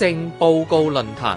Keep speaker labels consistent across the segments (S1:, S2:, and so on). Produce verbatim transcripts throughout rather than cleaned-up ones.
S1: 政報告論壇。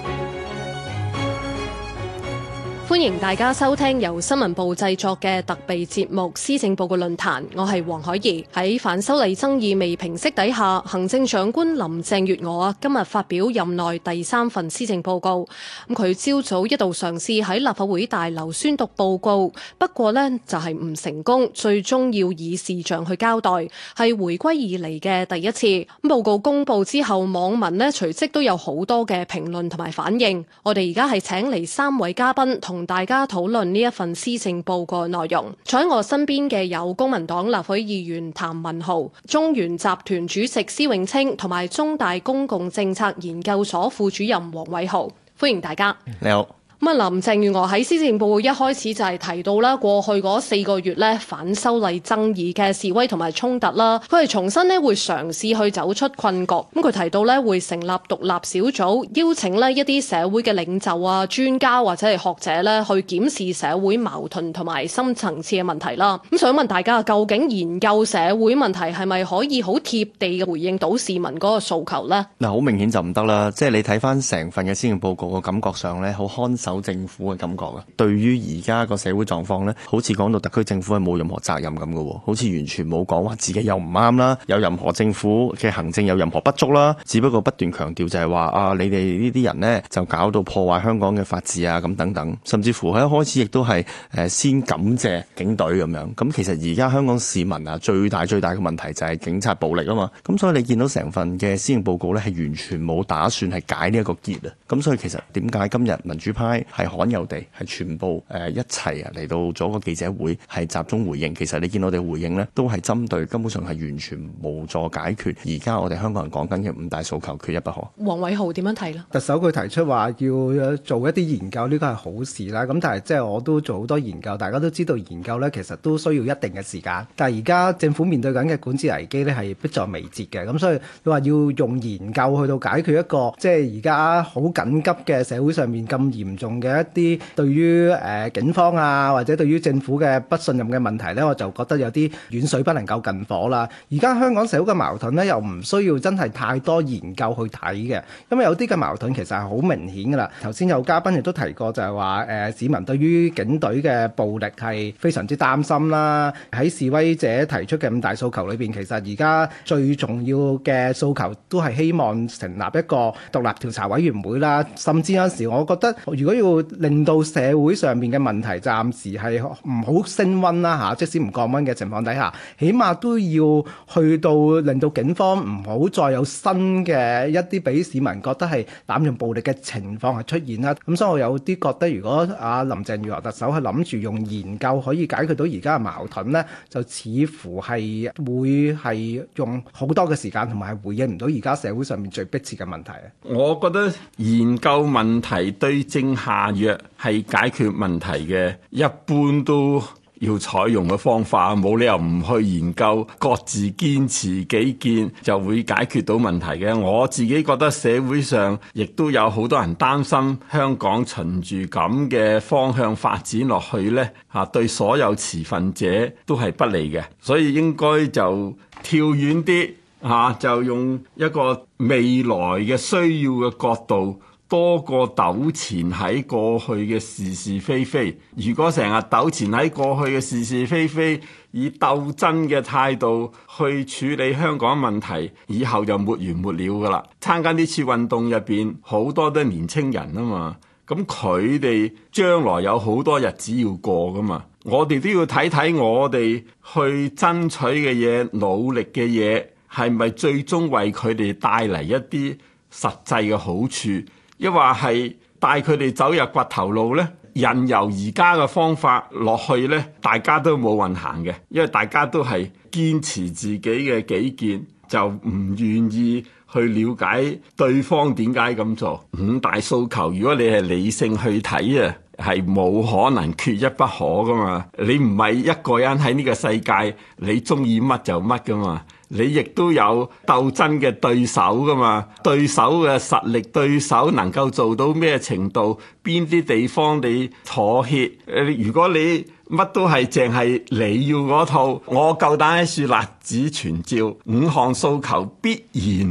S2: 歡迎大家收聽由新聞部製作嘅特備節目《施政報告論壇》，我係黃海怡。喺反修例爭議未平息底下，行政長官林鄭月娥啊今日發表任內第三份施政報告。咁佢朝早一度嘗試喺立法會大樓宣讀報告，不過呢就係唔成功，最終要以視像去交代，係回歸以嚟嘅第一次。報告公布之後，網民呢隨即都有好多嘅評論同埋反應。我哋而家係請嚟三位嘉賓同大家討論呢一份施政報告內容。坐喺我身邊嘅有公民黨立法會議員譚文豪、中原集團主席施永青同埋中大公共政策研究所副主任黃偉豪，歡迎大家。
S3: 你好。
S2: 咁啊，林鄭月娥喺施政報告一開始就係提到啦，過去嗰四個月咧反修例爭議嘅示威同埋衝突啦，佢係重新咧會嘗試去走出困局。咁佢提到咧會成立獨立小組，邀請咧一啲社會嘅領袖啊、專家或者係學者咧去檢視社會矛盾同埋深層次嘅問題啦。咁想問大家，究竟研究社會問題係咪可以好貼地嘅回應到市民嗰個訴求呢？
S3: 嗱，好明顯就唔得啦。即係你睇翻成份嘅施政報告個感覺上咧，好看守政府嘅感覺啊！對於而家個社會狀況呢，好似講到特區政府係冇任何責任咁嘅喎，好似完全冇講話自己又唔啱啦，有任何政府嘅行政有任何不足啦，只不過不斷強調就係話啊，你哋呢啲人呢，就搞到破壞香港嘅法治啊咁等等，甚至乎喺一開始亦都係誒先感謝警隊咁樣。咁其實而家香港市民啊，最大最大嘅問題就係警察暴力啊嘛。咁所以你見到成份嘅施政報告呢，係完全冇打算係解呢一個結啊。咁所以其實點解今日民主派係罕有地係全部誒一齊啊嚟到咗個記者會係集中回應？其實你見到我哋回應呢，都係針對根本上係完全無助解決而家我哋香港人講緊嘅五大訴求，缺一不可。
S2: 黃偉豪點樣睇呢？
S4: 特首佢提出話要做一啲研究，呢個係好事啦。咁但係即係我都做好多研究，大家都知道研究呢其實都需要一定嘅時間。但係而家政府面對緊嘅管治危機呢係迫在眉睫嘅。咁所以你話要用研究去到解決一個即係而家好緊急嘅社會上面咁嚴重嘅一啲對於誒、呃、警方啊或者對於政府嘅不信任嘅問題呢，我就覺得有啲遠水不能夠近火啦。而家香港社會嘅矛盾呢，又唔需要真係太多研究去睇嘅，因為有啲嘅矛盾其實係好明顯噶啦。頭先有嘉賓亦都提過就係話誒市民對於警隊嘅暴力係非常之擔心啦。喺示威者提出嘅五大訴求裏邊，其實而家最重要嘅訴求都係希望成立一個獨立調查委員會啦。甚至有時我覺得如果要令到社會上面嘅問題暫時係唔好升溫啦嚇，即使唔降溫嘅情況底下，起碼都要去到令到警方唔好再有新嘅一啲俾市民覺得係濫用暴力嘅情況係出現啦。咁所以我有啲覺得，如果阿林鄭月娥特首係諗住用研究可以解決到而家嘅矛盾呢，就似乎係會係用好多嘅時間，同埋回應唔到而家社會上面最迫切嘅問題。
S5: 我覺得研究問題對症下藥係解決問題嘅，一般都要採用嘅方法，冇理由唔去研究，各自堅持己見就會解決到問題嘅。我自己覺得社會上亦都有好多人擔心香港循住咁嘅方向發展落去呢，嚇對所有持份者都係不利嘅，所以應該就跳遠啲嚇，就用一個未來嘅需要嘅角度，多過糾纏喺過去嘅是是非非。如果成日糾纏喺過去嘅是是非非，以鬥爭嘅態度去處理香港問題，以後就沒完沒了噶啦。參加呢次運動入邊，好多都係年青人啊嘛，咁佢哋將來有好多日子要過噶嘛，我哋都要睇睇我哋去爭取嘅嘢、努力嘅嘢，係咪最終為佢哋帶嚟一啲實際嘅好處？抑或係帶佢哋走入掘頭路呢？任由而家嘅方法落去呢，大家都冇運行嘅，因為大家都係堅持自己嘅己見，就唔願意去了解對方點解咁做。五大訴求，如果你係理性去睇啊，係冇可能缺一不可噶嘛。你唔係一個人喺呢個世界，你中意乜就乜噶嘛。你亦都有鬥爭嘅對手噶嘛，對手嘅實力，對手能夠做到咩程度，邊啲地方你妥協？誒，如果你乜都係淨係你要嗰套，我夠膽喺樹立子傳召，五項訴求必然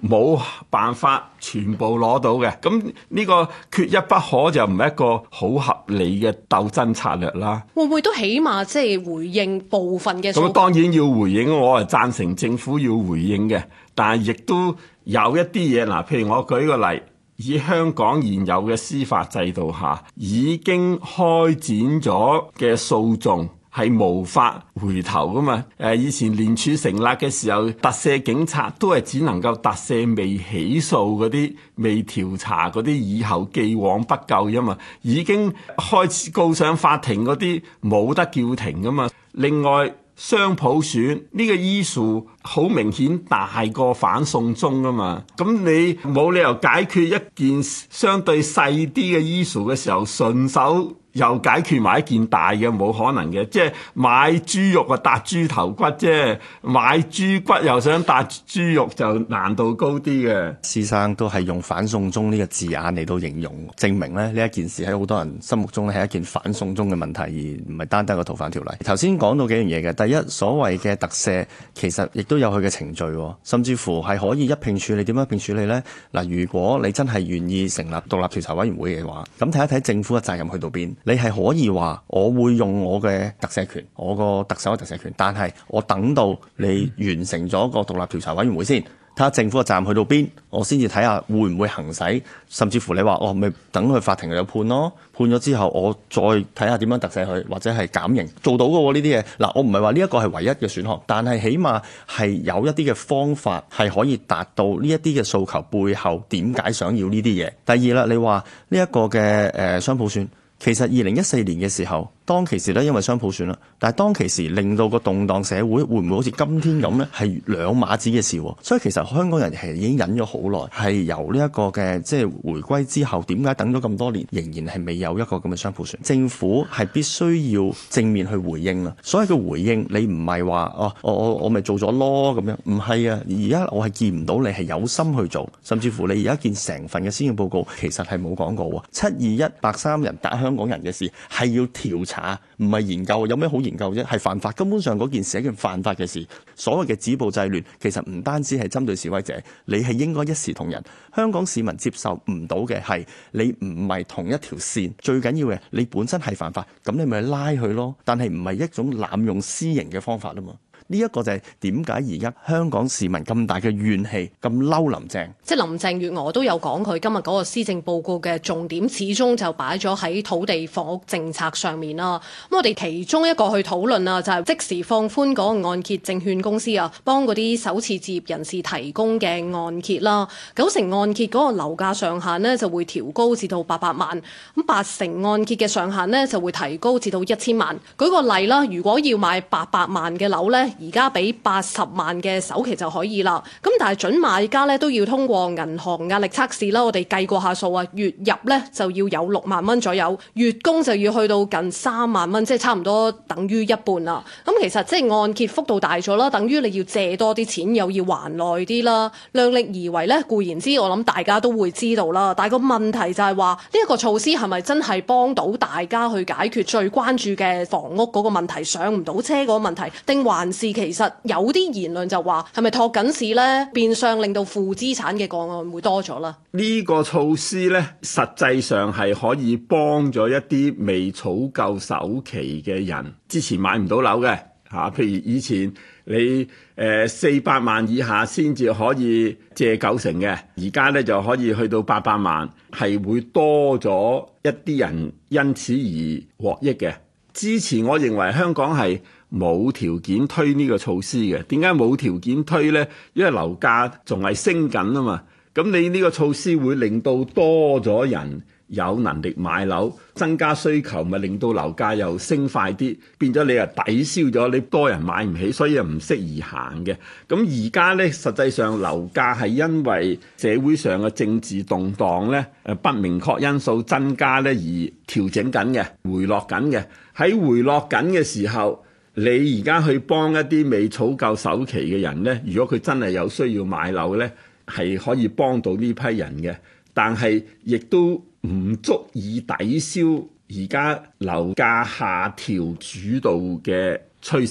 S5: 冇辦法全部攞到嘅。咁呢個缺一不可就唔係一個好合理嘅鬥爭策略啦。
S2: 會唔會都起碼即係回應部分嘅？
S5: 咁當然要回應，我係贊成政府要回應嘅，但係亦都有一啲嘢嗱，譬如我舉個例。以香港現有嘅司法制度下，已經開展咗嘅訴訟係無法回頭噶嘛？誒，以前廉署成立嘅時候，特赦警察都係只能夠特赦未起訴嗰啲、未調查嗰啲，以後既往不咎啫嘛。已經開始告上法庭嗰啲，冇得叫停噶嘛。另外，雙普選呢個 issue 好明顯大過反送中啊嘛，咁你冇理由解決一件相對細啲嘅 issue 嘅時候，順手又解決埋一件大嘅，冇可能嘅。即係買豬肉啊，搭豬頭骨啫；買豬骨又想搭豬肉，就難度高啲嘅。
S3: 施生都係用反送中呢個字眼嚟到形容，證明咧呢一件事喺好多人心目中咧係一件反送中嘅問題，而唔係單單個逃犯條例。頭先講到幾樣嘢嘅，第一，所謂嘅特赦其實亦都有佢嘅程序，甚至乎係可以一併處理。點樣一併處理呢？嗱，如果你真係願意成立獨立調查委員會嘅話，咁睇一睇政府嘅責任去到邊。你係可以話我會用我嘅特赦權，我個特首嘅特赦權，但係我等到你完成咗個獨立調查委員會先，睇下政府嘅責任去到邊，我先至睇下會唔會行使，甚至乎你話我咪等佢法庭有判咯，判咗之後我再睇下點樣特赦佢，或者係減刑，做到嘅喎呢啲嘢。嗱，我唔係話呢一個係唯一嘅選項，但係起碼係有一啲嘅方法係可以達到呢一啲嘅訴求背後點解想要呢啲嘢。第二啦，你話呢一個嘅誒雙普選。其實二零一四年嘅時候，當其時咧因為雙普選啦，但係當其時令到個動盪社會會唔會好似今天咁呢？係兩碼子嘅事。所以其實香港人係已經忍咗好耐，係由呢一個嘅即係回歸之後，點解等咗咁多年仍然係未有一個咁嘅雙普選？政府係必須要正面去回應啦。所謂嘅回應，你唔係話哦，我我我咪做咗咯咁樣，唔係啊！而家我係見唔到你係有心去做，甚至乎你而家見成份嘅施政報告其實係冇講過七二一白衫人打香港人嘅事係要調查，唔係研究。有咩好研究啫？係犯法，根本上嗰件事係一件犯法嘅事。所謂嘅止暴制亂，其實唔單止係針對示威者，你係應該一視同仁。香港市民接受唔到嘅係你唔係同一條線，最緊要嘅你本身係犯法，咁你咪拉佢咯。但係唔係一種濫用私刑嘅方法啊嘛。呢一個就係點解而家香港市民咁大嘅怨氣，咁嬲林鄭。
S2: 即係林鄭月娥都有講佢今日嗰個施政報告嘅重點，始終就擺咗喺土地房屋政策上面啦。咁我哋其中一個去討論啊，就係即時放寬嗰個按揭證券公司啊，幫嗰啲首次置業人士提供嘅按揭啦。九成按揭嗰個樓價上限呢就會調高至到八百萬，咁八成按揭嘅上限呢就會提高至到一千萬。舉個例啦，如果要買八百萬嘅樓呢，而家俾八十萬嘅首期就可以啦，咁但係準買家咧都要通過銀行壓力測試啦。我哋計過下數啊，月入咧就要有六萬蚊左右，月供就要去到近三萬蚊，即係差唔多等於一半啦。咁其實即係按揭幅度大咗啦，等於你要借多啲錢，又要還耐啲啦。量力而為咧，固然之我諗大家都會知道啦。但係個問題就係話呢一個措施係咪真係幫到大家去解決最關注嘅房屋嗰個問題，上唔到車嗰個問題，定還是其實有啲言論就話係咪托緊市呢？變相令到負資產嘅個案會多咗啦。
S5: 呢個措施呢，實際上係可以幫咗一啲未儲夠首期嘅人，之前買唔到樓嘅嚇。譬如以前你誒四百萬以下先至可以借九成嘅，而家呢就可以去到八百萬，係會多咗一啲人因此而獲益嘅。之前我認為香港係冇條件推呢個措施嘅。點解冇條件推呢？因為樓價仲係升緊啊嘛。咁你呢個措施會令到多咗人有能力買樓，增加需求，咪令到樓價又升快啲，變咗你又抵消咗你多人買唔起，所以又唔適宜行嘅。咁而家呢，實際上樓價係因為社會上嘅政治動盪呢，誒不明確因素增加呢而調整緊嘅，回落緊嘅。喺回落緊嘅時候，你而家去幫一啲未儲夠首期嘅人呢，如果佢真係有需要買樓呢，係可以幫到呢批人嘅，但係亦都唔足以抵消而家樓價下調主導嘅趨勢。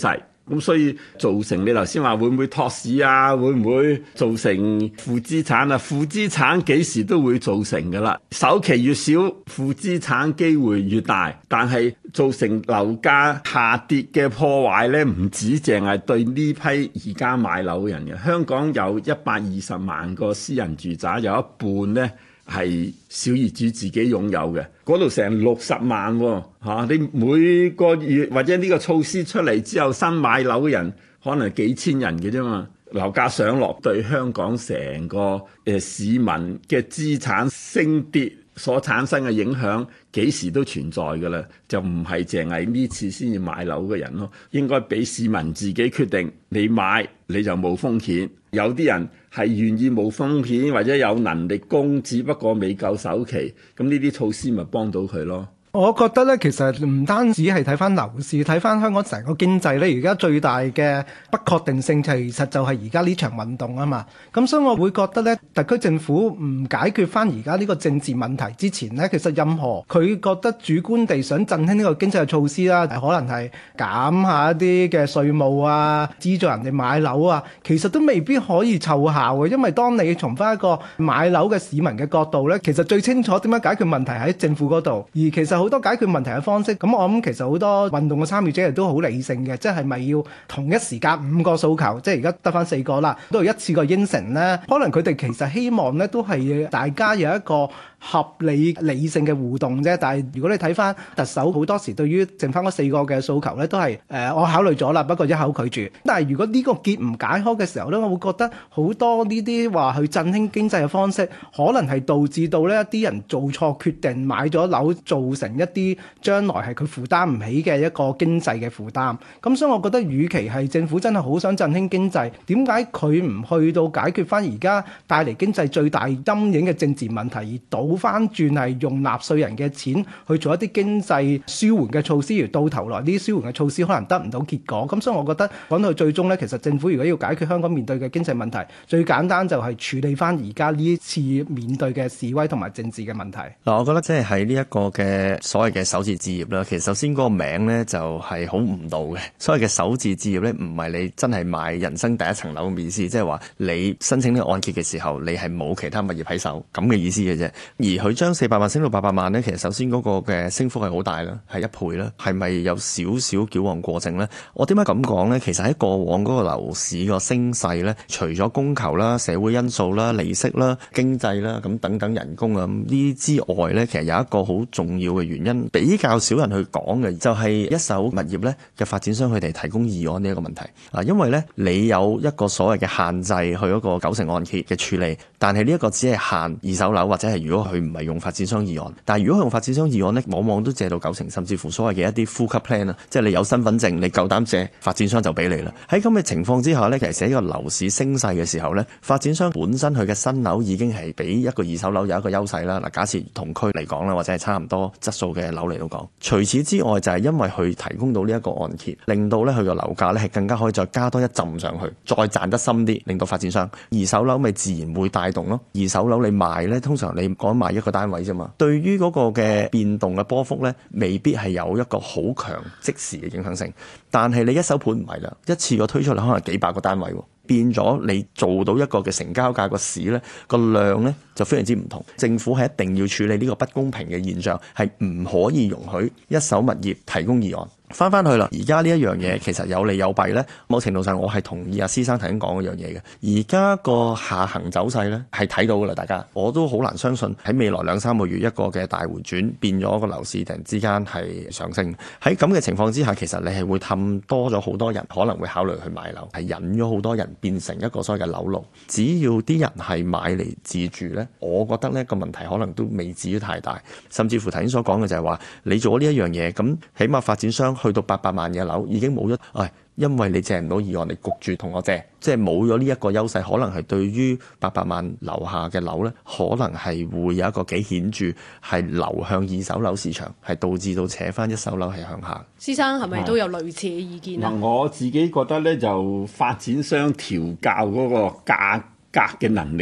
S5: 咁所以造成你頭先話會唔會托市啊？會唔會造成負資產啊？負資產幾時都會造成㗎啦。首期越少，負資產機會越大。但係造成樓價下跌嘅破壞咧，唔止淨係對呢批而家買樓嘅人嘅。香港有一百二十萬個私人住宅，有一半咧係小業主自己擁有嘅，嗰度成六十萬喎、哦啊、你每個月或者呢個措施出嚟之後，新買樓嘅人可能幾千人嘅啫嘛。樓價上落對香港成個誒、呃、市民嘅資產升跌所產生嘅影響，幾時都存在㗎啦，就唔係淨係呢次先至買樓嘅人咯。應該俾市民自己決定，你買你就冇風險。有啲人係願意冇風險或者有能力供，只不過未夠首期，咁呢啲措施咪幫到佢咯。
S4: 我覺得咧，其實唔單止係睇翻樓市，睇翻香港成個經濟咧，而家最大嘅不確定性其實就係而家呢場運動啊嘛。咁所以我會覺得咧，特區政府唔解決翻而家呢個政治問題之前咧，其實任何佢覺得主觀地想振興呢個經濟嘅措施啦，可能係減下一啲嘅稅務啊，資助人哋買樓啊，其實都未必可以奏效嘅。因為當你從翻一個買樓嘅市民嘅角度咧，其實最清楚點樣解決問題喺政府嗰度，而其實好多解決問題嘅方式，咁我諗其實好多運動嘅參與者亦都好理性嘅，即係咪要同一時間五個訴求，即係而家得翻四個啦，都係一次過應承呢？可能佢哋其實希望呢都係大家有一個合理理性嘅互動啫。但係如果你睇翻特首好多時對於剩翻嗰四個嘅訴求呢，都係誒、呃、我考慮咗啦，不過一口拒絕。但係如果呢個結唔解開嘅時候呢，我會覺得好多呢啲話去振興經濟嘅方式，可能係導致到呢一啲人做錯決定，買咗樓，造成一啲將來係佢負擔唔起嘅一個經濟嘅負擔。咁所以我覺得與其係政府真係好想振興經濟，點解佢唔去到解決翻而家帶嚟經濟最大陰影嘅政治問題，而倒翻轉係用納稅人嘅錢去做一啲經濟舒緩嘅措施，而到頭來呢啲舒緩嘅措施可能得唔到結果。咁所以我覺得講到最終呢，其實政府如果要解決香港面對嘅經濟問題，最簡單就係處理翻而家呢次面對嘅示威同埋政治嘅問題。
S3: 嗱，我覺得即係喺呢一個嘅所謂嘅首次置業啦，其實首先嗰個名呢就係好誤導嘅。所謂嘅首次置業呢，唔係你真係買人生第一層樓嘅意思，即係話你申請呢個按揭嘅時候，你係冇其他物業喺手咁嘅意思嘅啫。而佢將四百萬升到八百萬呢，其實首先嗰個嘅升幅係好大啦，係一倍啦，係咪有少少矯枉過正呢？我點解咁講呢？其實喺過往嗰個樓市個升勢呢，除咗供求啦、社會因素啦、利息啦、經濟啦咁等等人工啊呢啲之外呢，其實有一個好重要嘅原因，比較少人去講嘅，就係一手物業呢嘅發展商佢哋提供二按呢一個問題啊。因為呢，你有一個所謂嘅限制去一個九成按揭嘅處理，但係呢一個只係限二手樓，或者係如果佢唔係用發展商二按，但係如果佢用發展商二按呢，往往都借到九成，甚至乎所謂嘅一啲呼吸 plan 啊，即係你有身份證，你夠膽借，發展商就俾你啦。喺咁嘅情況之下呢，其實喺一個樓市升勢嘅時候呢，發展商本身佢嘅新樓已經係比一個二手樓有一個優勢啦。嗱，假設同區嚟講啦，或者係差唔多質素嘅樓嚟到講，除此之外就係因為佢提供到呢一個按揭，令到咧佢個樓價咧係更加可以再加多一浸上去，再賺得深啲，令到發展商二手樓咪自然會帶動咯。二手樓你賣咧，通常你講賣一個單位啫嘛，對於嗰個嘅變動嘅波幅咧，未必係有一個好強即時嘅影響性。但係你一手盤唔係啦，一次過推出嚟可能幾百個單位喎。變咗你做到一個嘅成交價個市呢個量呢就非常之唔同。政府係一定要處理呢個不公平嘅現象，係唔可以容許一手物業提供二按。翻翻去啦，而家呢一樣嘢其實有利有弊呢。某程度上我係同意阿施生頭先講嗰樣嘢嘅。而家個下行走勢呢係睇到噶啦，大家我都好難相信喺未來兩三個月一個嘅大回轉變咗個樓市突然之間係上升。喺咁嘅情況之下，其實你係會氹多咗好多人可能會考慮去買樓，係引咗好多人變成一個所謂嘅樓奴。只要啲人係買嚟自住呢，我覺得呢個問題可能都未至於太大。甚至乎頭先所講嘅就係話，你做呢一樣嘢，咁起碼發展商去到八百萬嘅樓已經冇咗，唉，因為你借唔到二按，你焗住同我借，即係冇咗呢一個優勢，可能係對於八百萬樓下嘅樓呢，可能係會有一個幾顯著係流向二手樓市場，係導致到扯翻一手樓係向下。
S2: 施生係咪都有類似嘅意見啊？
S5: 嗱，我自己覺得呢，就發展商調校嗰個價格嘅能力呢，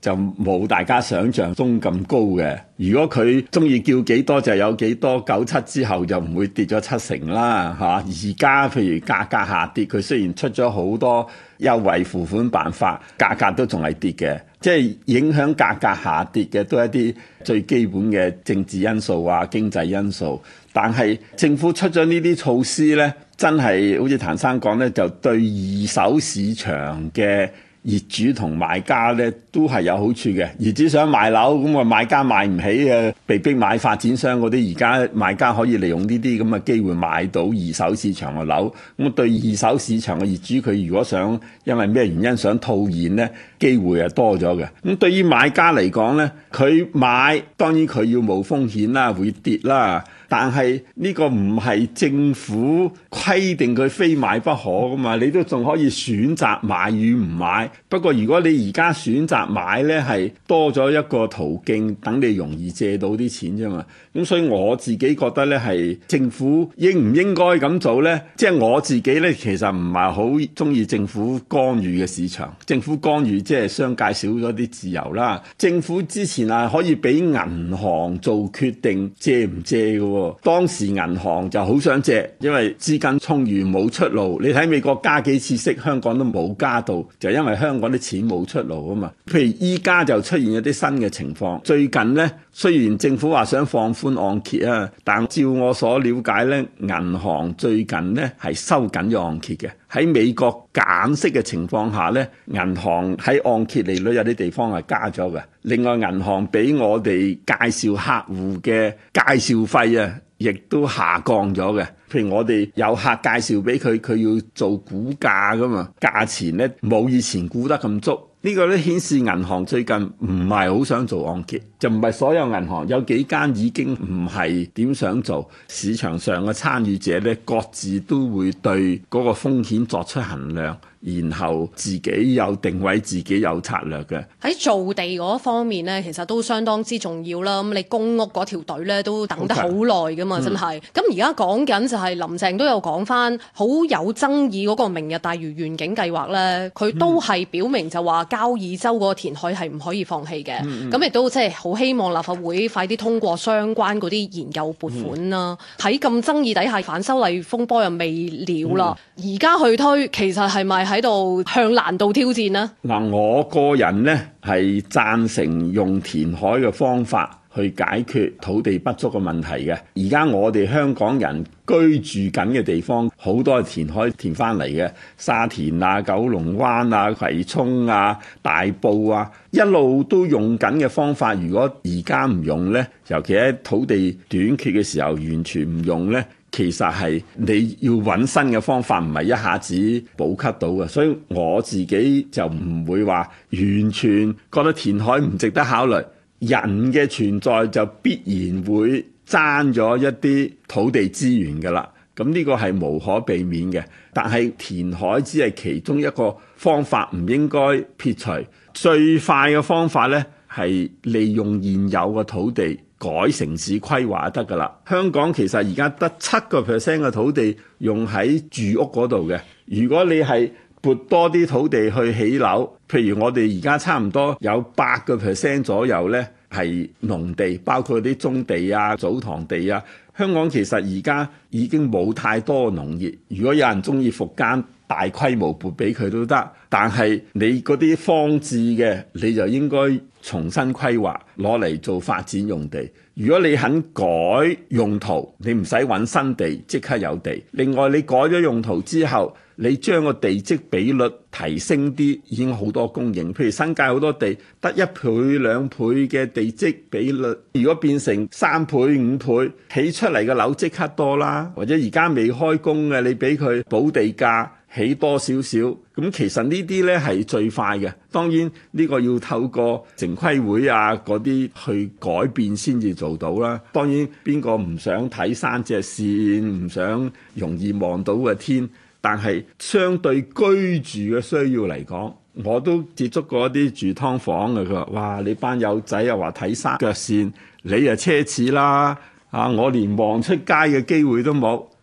S5: 就冇大家想象中咁高嘅。如果佢中意叫幾多就有幾多，九七之後就唔會跌咗七成啦，嚇。而家譬如價格下跌，佢雖然出咗好多優惠付款辦法，價格都仲係跌嘅。即係影響價格下跌嘅都係一啲最基本嘅政治因素啊、經濟因素。但係政府出咗呢啲措施呢，真係好似譚生講呢，就對二手市場嘅業主同買家咧都係有好處嘅。業主想買樓，咁啊買家買唔起嘅，被逼買發展商嗰啲，而家買家可以利用呢啲咁嘅機會買到二手市場嘅樓。咁對二手市場嘅業主，佢如果想因為咩原因想套現咧，機會係多咗嘅。咁對於買家嚟講咧，佢買當然佢要冒風險啦，會跌啦。但係呢個唔係政府規定佢非買不可噶嘛，你都仲可以選擇買與唔買。不過如果你而家選擇買呢，係多咗一個途徑，等你容易借到啲錢啫嘛。咁所以我自己覺得呢，係政府應唔應該咁做呢？即係我自己呢，其實唔係好中意政府干預嘅市場。政府干預即係商界少咗啲自由啦。政府之前啊可以俾銀行做決定借唔借嘅。當時銀行就好想借，因為資金充裕冇出路。你睇美國加幾次息，香港都冇加到，就因為香港啲錢冇出路啊嘛。譬如依家就出現一啲新嘅情況。最近呢，雖然政府話想放寬按揭啊，但照我所了解呢，銀行最近呢係收緊咗按揭嘅。喺美國減息嘅情況下呢，銀行喺按揭利率有啲地方係加咗嘅。另外銀行俾我哋介紹客戶嘅介紹費啊，亦都下降咗嘅。譬如我哋有客介紹俾佢，佢要做估價噶嘛，價錢呢冇以前估得咁足。呢個咧顯示銀行最近唔係好想做按揭，就唔係所有銀行，有幾間已經唔係點想做。市場上嘅參與者咧，各自都會對嗰個風險作出衡量，然後自己有定位，自己有策略嘅。
S2: 喺造地嗰方面咧，其實都相當之重要啦。咁你公屋嗰條隊咧都等得好耐噶嘛，真係。咁而家講緊就係林鄭都有講翻好有爭議嗰個明日大嶼願景計劃咧，佢都係表明就話交椅洲嗰個填海係唔可以放棄嘅。咁亦、嗯、都即係好希望立法會快啲通過相關嗰啲研究撥款啦。喺咁、嗯、爭議底下，反修例風波又未了啦，而家、嗯、去推，其實係咪喺度向難度挑戰呢？嗱，
S5: 我個人呢係贊成用填海嘅方法去解決土地不足嘅問題嘅。而家我哋香港人居住緊嘅地方好多係填海填翻嚟嘅，沙田啊、九龍灣啊、葵涌啊、大埔啊，一路都用緊嘅方法。如果而家唔用呢，尤其喺土地短缺嘅時候完全唔用呢，其實係你要揾新嘅方法，唔係一下子補給到嘅。所以我自己就唔會話完全覺得填海唔值得考慮。人嘅存在就必然會爭咗一啲土地資源㗎啦，咁呢個係無可避免嘅。但係填海只係其中一個方法，唔應該撇除。最快嘅方法呢，係利用現有嘅土地改城市規劃得㗎啦。香港其實而家得七個 percent 嘅土地用喺住屋嗰度嘅，如果你係撥多啲土地去起樓，譬如我哋而家差唔多有八個 percent 左右呢係農地，包括啲棕地啊、祖堂地啊。香港其實而家已經冇太多農業，如果有人中意復耕，大規模撥俾佢都得。但係你嗰啲荒置嘅，你就應該重新規劃，攞嚟做發展用地。如果你肯改用途，你唔使揾新地，即刻有地。另外你改咗用途之後，你將個地積比率提升啲，已經好多供應。譬如新界好多地得一倍兩倍嘅地積比率，如果變成三倍五倍，起出嚟嘅樓即刻多啦。或者而家未開工嘅，你俾佢補地價起多少少，咁其實呢啲呢係最快嘅。當然呢個要透過城規會啊嗰啲去改變先至做到啦。當然邊個唔想睇三隻線，唔想容易望到嘅天，但係相對居住嘅需要嚟講，我都接觸過一啲住劏房嘅，佢話：哇，你班友仔又話睇三腳線，你啊奢侈啦！啊，我連望出街嘅機會都冇。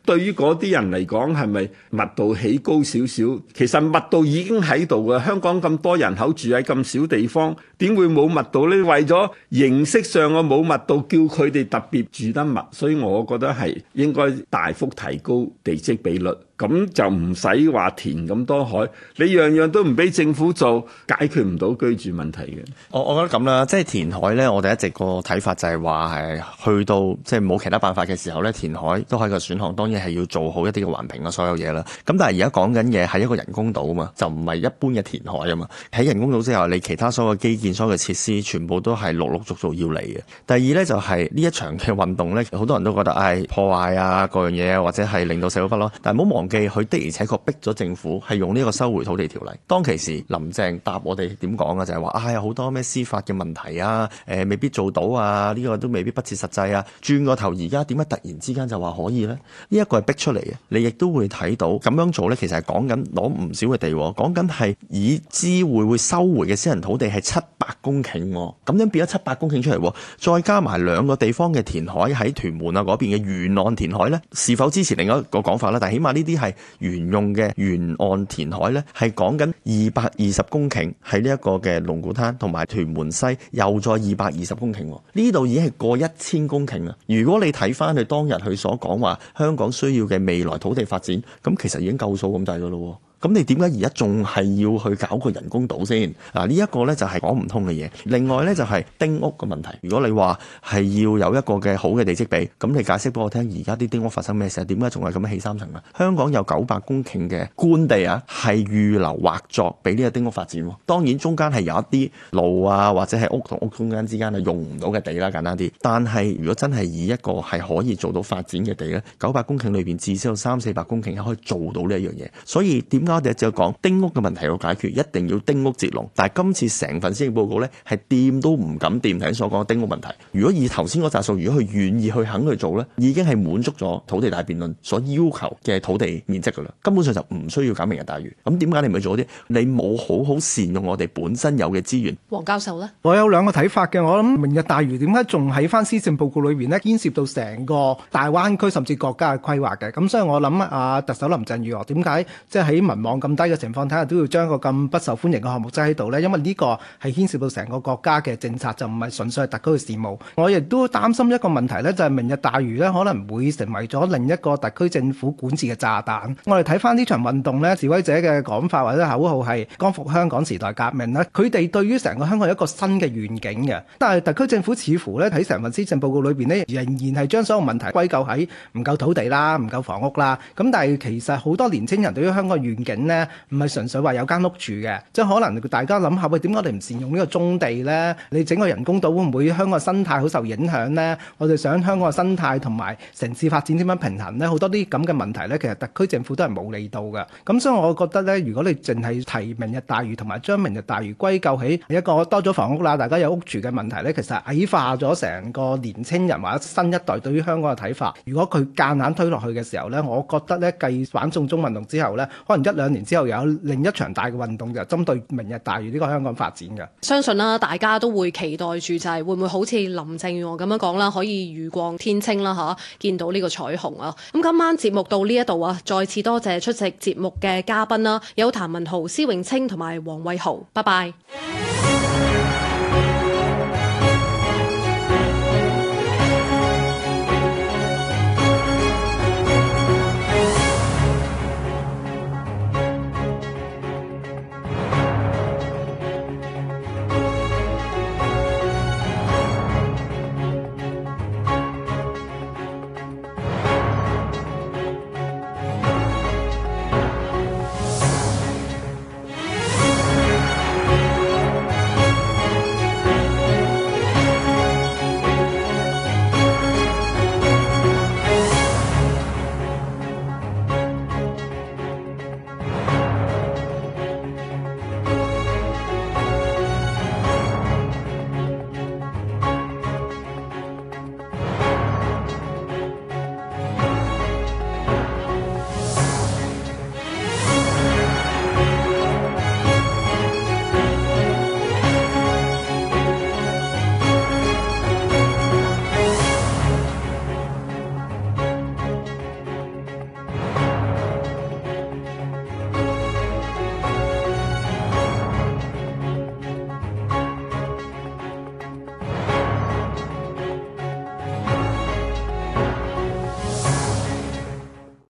S5: 對於嗰啲人嚟講，係咪密度起高少少？其實密度已經喺度嘅。香港咁多人口住喺咁少地方，點會冇密度呢？為咗形式上嘅冇密度，叫佢哋特別住得密，所以我覺得係應該大幅提高地積比率。咁就唔使話填咁多海，你樣樣都唔俾政府做，解決唔到居住問題嘅。
S3: 我我覺得咁啦，即係填海咧，我哋一直個睇法就係話係去到即係冇其他辦法嘅時候咧，填海都係個選項，當然係要做好一啲嘅環評啊，所有嘢啦。咁但係而家講緊嘅係一個人工島啊嘛，就唔係一般嘅填海啊嘛。喺人工島之後，你其他所有嘅基建、所有嘅設施，全部都係陸陸續續要嚟嘅。第二咧就係呢一場嘅運動咧，好多人都覺得唉、哎、破壞啊各樣嘢啊，或者係令到社會不安。但係唔好忘記，佢的而且確逼咗政府係用呢個收回土地條例。當其時林鄭答我哋點講啊？就係話啊有好多咩司法嘅問題啊，誒、呃、未必做到啊，呢、這個都未必不切實際啊。轉個頭而家點解突然之間就話可以呢？呢、這、一個係逼出嚟嘅，你亦都會睇到咁樣做呢，其實係講緊攞唔少嘅地，講緊係已知會會收回嘅私人土地係七百公頃，咁樣變咗七百公頃出嚟，再加埋兩個地方嘅填海喺屯門啊嗰邊嘅沿岸填海呢，是否支持另一個講法呢？但係起碼呢啲係沿用嘅沿岸填海呢，係講緊二百二十公頃喺呢一個嘅龍鼓灘同埋屯門西，又再二百二十公頃，呢度已經係過一千公頃啦。如果你睇翻佢當日佢所講話香港需要嘅未來土地發展，咁其實已經夠數咁滯噶咯。咁你點解而家仲係要去搞個人工島先？嗱，呢一個呢就係講唔通嘅嘢。另外呢，就係丁屋嘅問題。如果你話係要有一個嘅好嘅地積比，咁你解釋俾我聽，而家啲丁屋發生咩事？點解仲係咁樣起三層啊？香港有九百公頃嘅官地啊，係預留劃作俾呢個丁屋發展。當然中間係有一啲路啊，或者係屋同屋中間之間係用唔到嘅地啦，簡單啲。但係如果真係以一個係可以做到發展嘅地呢，九百公頃裏邊至少有三四百公頃係可以做到呢一樣嘢。所以點我哋就講丁屋嘅問題要解決，一定要丁屋截龍。但係今次成份施政報告呢，係掂都唔敢掂頭先所講嘅丁屋問題。如果以頭先嗰紮數，如果佢願意去肯去做呢，已經係滿足咗土地大辯論所要求嘅土地面積噶啦，根本上就唔需要搞明日大嶼。咁點解你唔去做啲？你冇好好善用我哋本身有嘅資源。
S2: 黃教授呢，
S4: 我有兩個睇法嘅。我諗明日大嶼點解仲喺翻施政報告裏邊呢，牽涉到成個大灣區甚至國家嘅規劃嘅。咁所以我諗啊，特首林鄭月娥點解即係喺民望咁低嘅情況底下都要將個咁不受歡迎嘅項目擠喺度呢？因為呢個係牽涉到成個國家嘅政策，就唔係純粹係特區嘅事務。我亦都擔心一個問題呢，就係明日大嶼呢可能會成為咗另一個特區政府管治嘅炸彈。我哋睇翻呢場運動呢，示威者嘅講法或者口號係光復香港時代革命呢，佢哋對於成個香港有一個新嘅願景嘅。但係特區政府似乎呢喺成份施政報告裏邊呢，仍然係將所有問題歸咎喺唔夠土地啦、唔夠房屋啦。咁但係其實好多年青人對於香港嘅願景呢，唔係純粹話有間屋住嘅，即係可能大家諗下，喂，點解我哋唔善用呢個棕地呢？你整個人工島會唔會香港嘅生態好受影響呢？我哋想香港嘅生態同埋城市發展點樣平衡呢？好多啲咁嘅問題呢，其實特區政府都係冇理到嘅。咁所以我覺得呢，如果你淨係提明日大嶼同埋將明日大嶼歸咎起一個多咗房屋啦，大家有屋住嘅問題呢，其實矮化咗成個年青人或者新一代對於香港嘅睇法。如果佢夾硬推落去嘅時候呢，我覺得呢，繼反送中運動之後呢，可能一兩年之後有另一場大嘅運動就針對明日大嶼呢個香港發展嘅。
S2: 相信啦，大家都會期待住就係會唔會好似林鄭月娥咁樣講啦，可以雨過天青啦嚇，見到呢個彩虹啊！咁今晚節目到呢一度啊，再次多謝出席節目嘅嘉賓啦，有譚文豪、施永青同埋黃偉豪，拜拜。